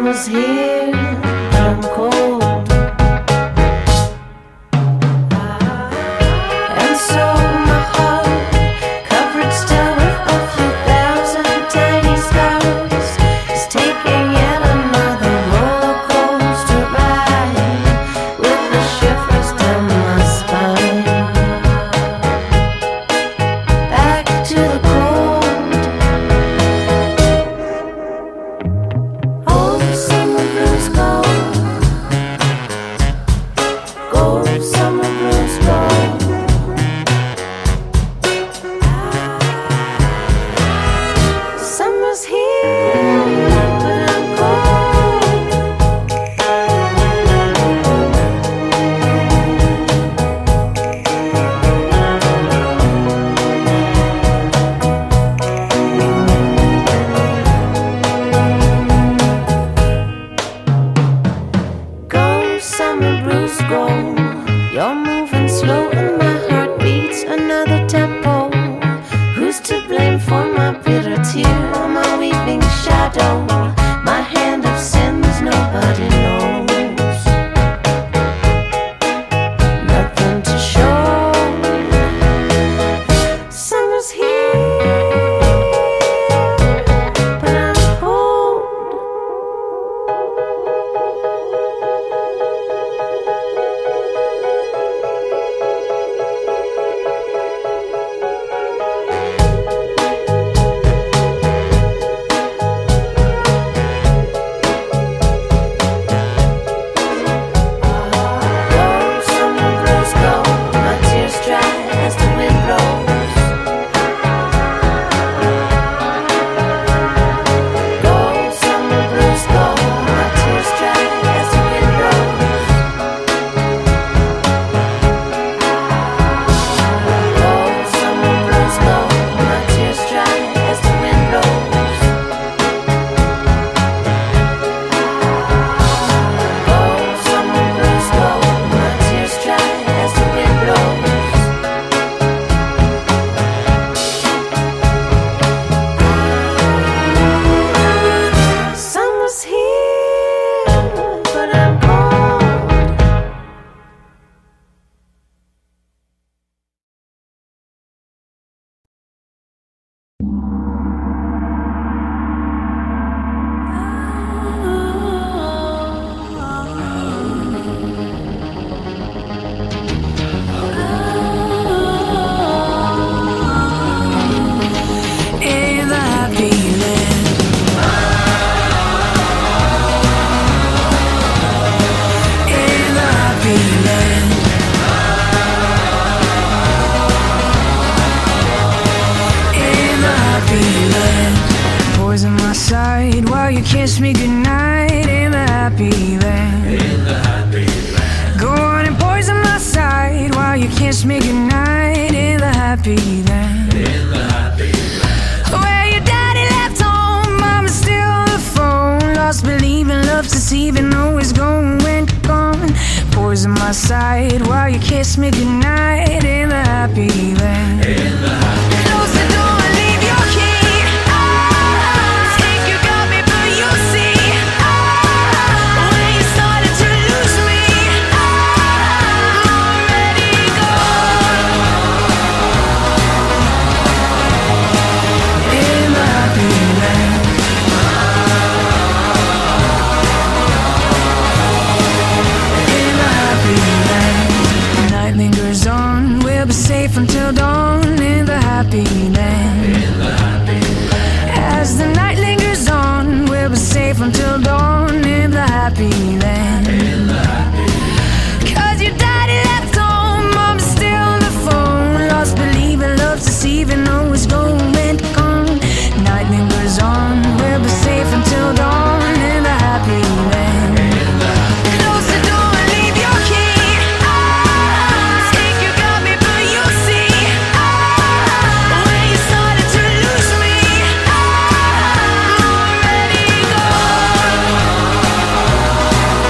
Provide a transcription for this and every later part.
Summer's here, but I'm cold. And so my heart, covered still with a few thousand tiny scars, is taking yet another roller coaster ride, with the shivers down my spine. Back to the cold. Oh, summer blues go. Go, summer blues go. Summer's here, but I'm cold. Go, summer blues, go. You're moving slow and my heart beats another tempo. Who's to blame for my bitter tear, my weeping shadow, my hand of sins nobody knows. Nothing to show. Summer's here, but I'm cold. Go, summer blues, go. My tears dry as the wind blows. Go, summer blues, go. My tears dry as the wind blows. Go, summer blues, go. My tears dry as the wind blows. Go, summer blues, go. My tears dry as the wind blows. Summer's here, but I'm cold. In the happy land, in the happy land, in the happy land. Poison my side while you kiss me goodnight. In the happy land, go on and poison my side while you kiss me goodnight. In the happy land. Where your daddy left home, mama's still on the phone. Lost believing, love deceiving, always going gone. Poison my side while you kiss me goodnight. In the happy land. Close the door and leave your key. Think you got me, but you'll see. When you started to lose me, I'm already gone. In the happy land. In the happy land. The night lingers on, we'll be safe until dawn. In the happy land. As the night lingers on, we'll be safe until dawn. In the happy land. Cause your daddy left home, mama's still on the phone. Lost believing, love deceiving, always going gone. Night lingers on, we'll be safe until dawn. In the happy land. Close the door and leave your key. Think you got me, but you'll see. When you started to lose me, I'm already gone.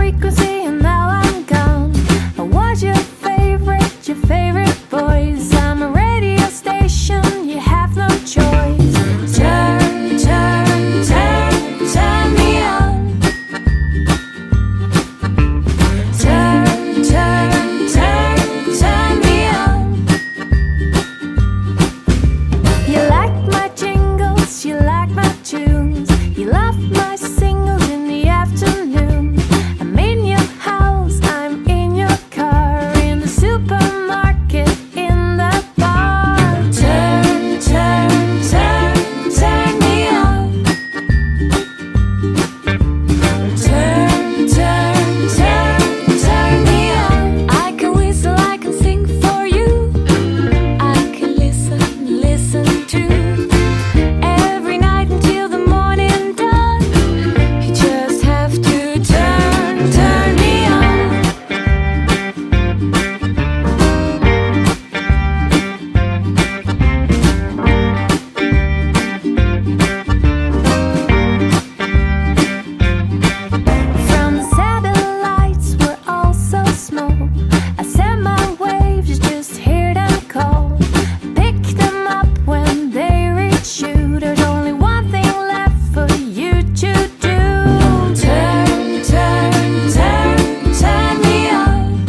frequency and now I'm gone. What's your favorite voice? I'm a radio station, you have no choice. Turn, turn, turn, turn me on. Turn, turn, turn, turn me on. You like my jingles, you like my tunes, you love my singles in the afternoon. I'm in your house, I'm in your car, in the supermarket, in the bar. Turn, turn, turn, turn me on. Turn, turn, turn, turn me on. I can whistle, I can sing for you. I can listen to every night until the morning dawn. You just have to turn me on. From the satellites, we're all so small. I send my waves, just hear them call. Pick them up when they reach you. There's only one thing left for you to do. Turn, turn, turn, turn me on.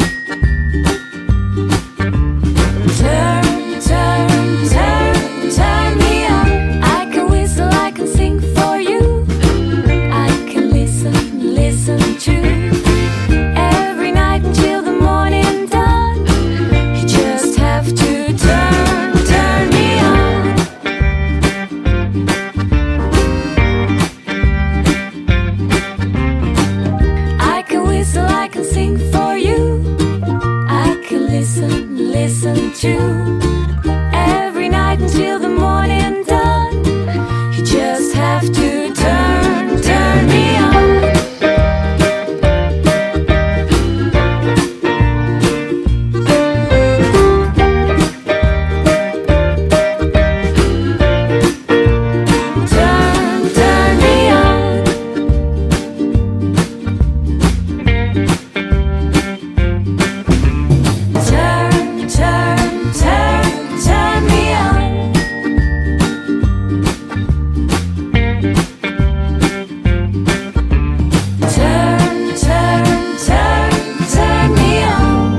Turn, turn, turn, turn me on. I can whistle, I can sing for you. I can listen to every night until the morning dawn. You just have to turn me on. I can whistle, I can sing for you. I can listen to every night until the morning dawn. You just have to turn me on. Turn me on. Turn, turn, turn me on. Turn, turn, turn me on.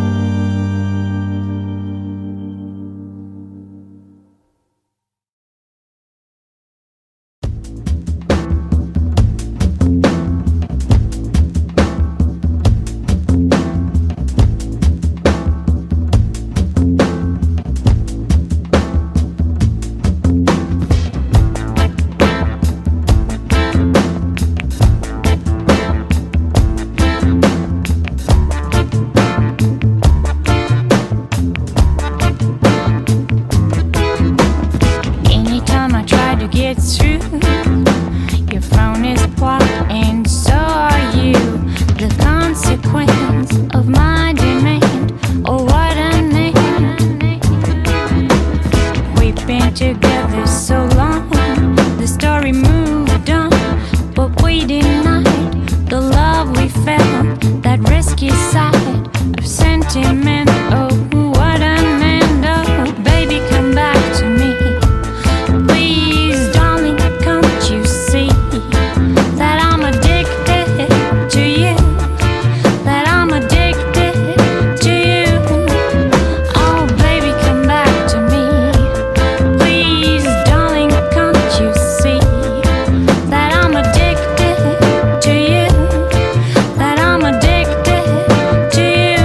Anytime I try to get through, your phone is blocked and so are you. The consequence of my demand, oh what a name. We've been together so long, the story moved on, but we denied the love we felt, that risky side of sentiment. Oh what an end, oh baby come back to me. Please, darling, can't you see that I'm addicted to you? That I'm addicted to you. Oh, baby, come back to me. Please, darling, can't you see that I'm addicted to you? That I'm addicted to you.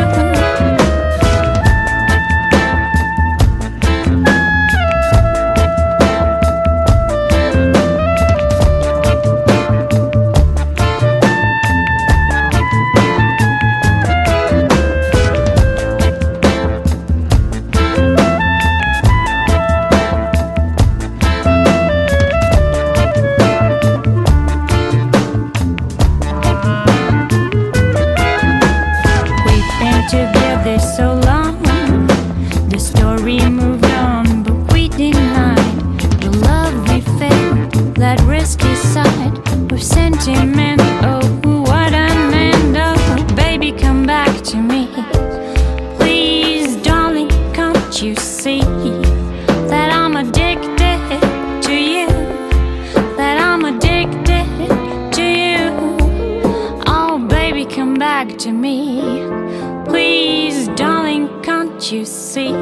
We've been together so long, the story moved on, but we denied the love we felt, that risky side of sentiment. Oh, what an end, oh back to me. Please, darling, can't you see?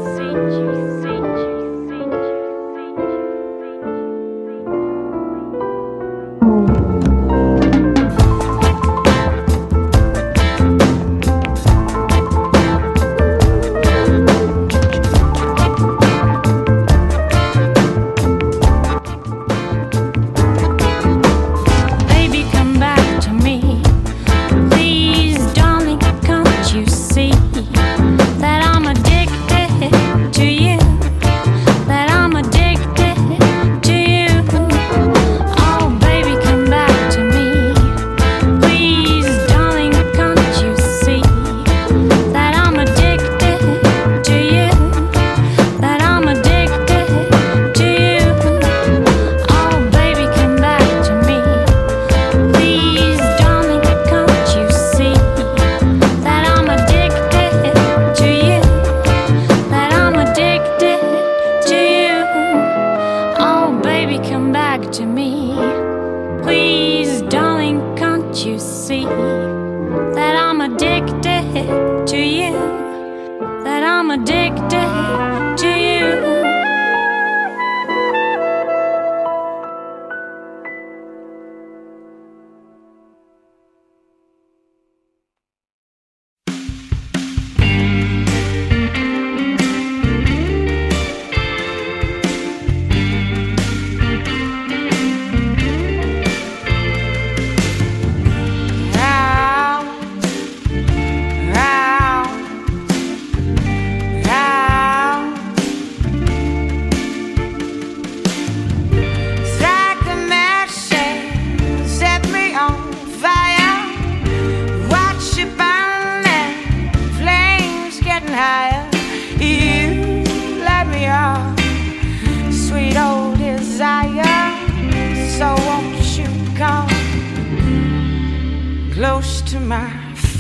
Close to my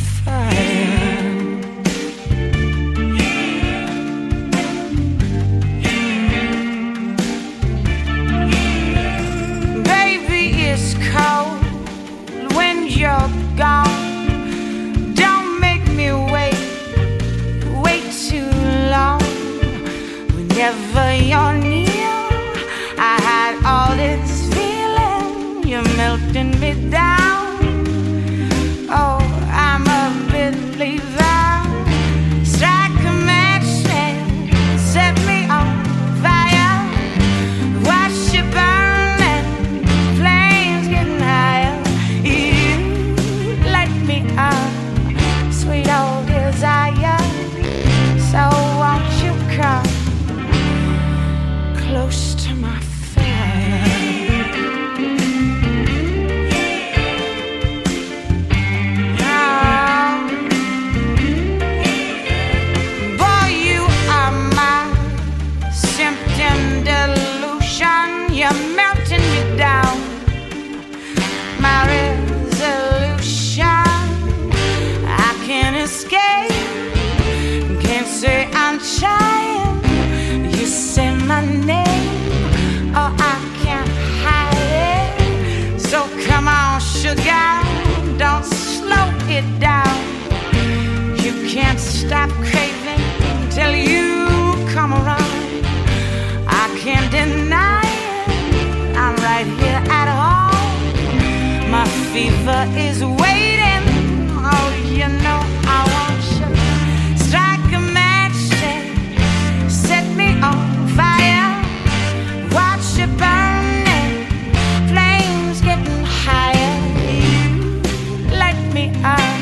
fire. Baby, it's cold when you're gone. Don't make me wait too long. Whenever you're near, I had all this feeling. You're melting me down. Oh, I'm a believer. Strike a match and set me on fire. Watch you burning, flames getting higher. You light me up, sweet old desire. So won't you come close to my fire? You're melting me down. My resolution, I can't escape. Can't say I'm trying. You say my name, oh, I can't hide it. So come on, sugar, don't slow it down. You can't stop craving till you come around. I can't deny I'm right here at home. My fever is waiting. Oh, you know I want you. Strike a match and set me on fire. Watch it burning, flames getting higher. You light me up.